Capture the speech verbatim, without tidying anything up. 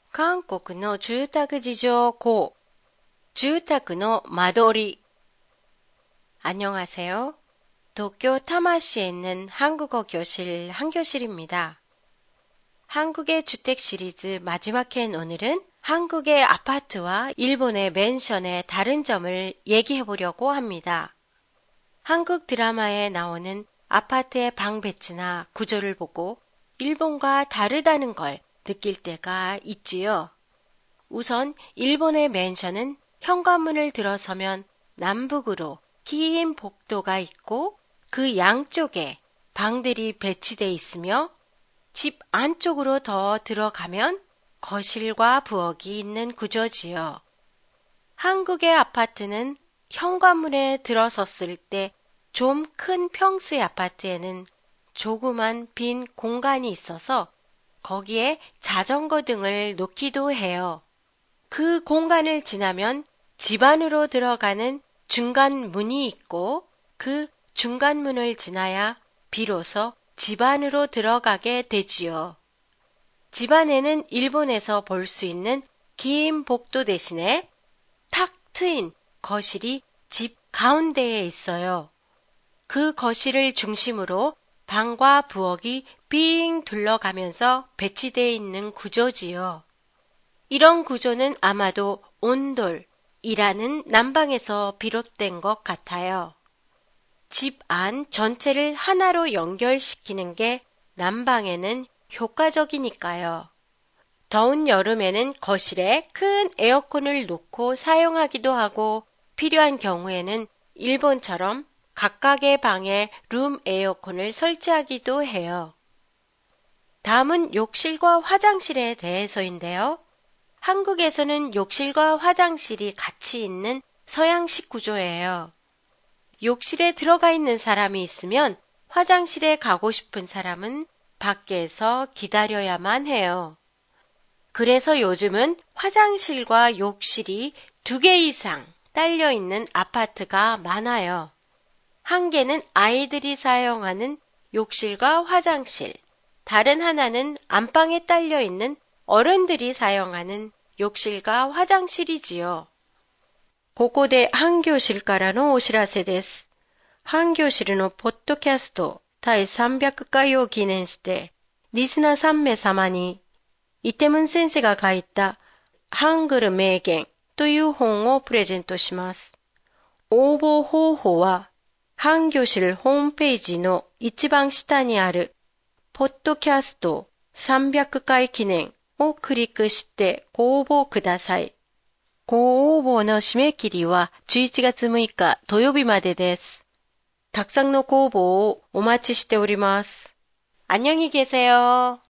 韓国の住宅事情고住宅の間取り. 안녕하세요. 도쿄 타마시에 있는 한국어 교실 한교실입니다. 한국의 주택 시리즈 마지막 회인 오늘은 한국의 아파트와 일본의 맨션의 다른 점을 얘기해 보려고 합니다. 한국 드라마에 나오는 아파트의 방 배치나 구조를 보고 일본과 다르다는 걸 느낄 때가 있지요. 우선 일본의 맨션은 현관문을 들어서면 남북으로 긴 복도가 있고 그 양쪽에 방들이 배치돼 있으며 집 안쪽으로 더 들어가면 거실과 부엌이 있는 구조지요. 한국의 아파트는 현관문에 들어섰을 때 좀 큰 평수의 아파트에는 조그만 빈 공간이 있어서 거기에 자전거 등을 놓기도 해요. 그 공간을 지나면 집 안으로 들어가는 중간 문이 있고 그 중간 문을 지나야 비로소 집 안으로 들어가게 되지요. 집 안에는 일본에서 볼 수 있는 긴 복도 대신에 탁 트인 거실이 집 가운데에 있어요. 그 거실을 중심으로 방과 부엌이 빙 둘러가면서 배치되어 있는 구조지요. 이런 구조는 아마도 온돌이라는 난방에서 비롯된 것 같아요. 집 안 전체를 하나로 연결시키는 게 난방에는 효과적이니까요. 더운 여름에는 거실에 큰 에어컨을 놓고 사용하기도 하고 필요한 경우에는 일본처럼 각각의 방에 룸 에어컨을 설치하기도 해요. 다음은 욕실과 화장실에 대해서인데요. 한국에서는 욕실과 화장실이 같이 있는 서양식 구조예요. 욕실에 들어가 있는 사람이 있으면 화장실에 가고 싶은 사람은 밖에서 기다려야만 해요. 그래서 요즘은 화장실과 욕실이 두 개 이상 딸려 있는 아파트가 많아요. 한 개는 아이들이 사용하는 욕실과 화장실, 다른 하나는 안방에 딸려 있는 어른들이 사용하는 욕실과 화장실이지요. ここで半教室からのお知らせです。半教室のポッドキャスト第さんびゃくかいを記念して、リスナーさん名様に、イテムン先生が書いたハングル名言という本をプレゼントします。応募方法は、半教室ホームページの一番下にある、ポッドキャストさんびゃくかい記念をクリックしてご応募ください。ご応募の締め切りはじゅういちがつむいか土曜日までです。たくさんのご応募をお待ちしております。안녕히 계세요.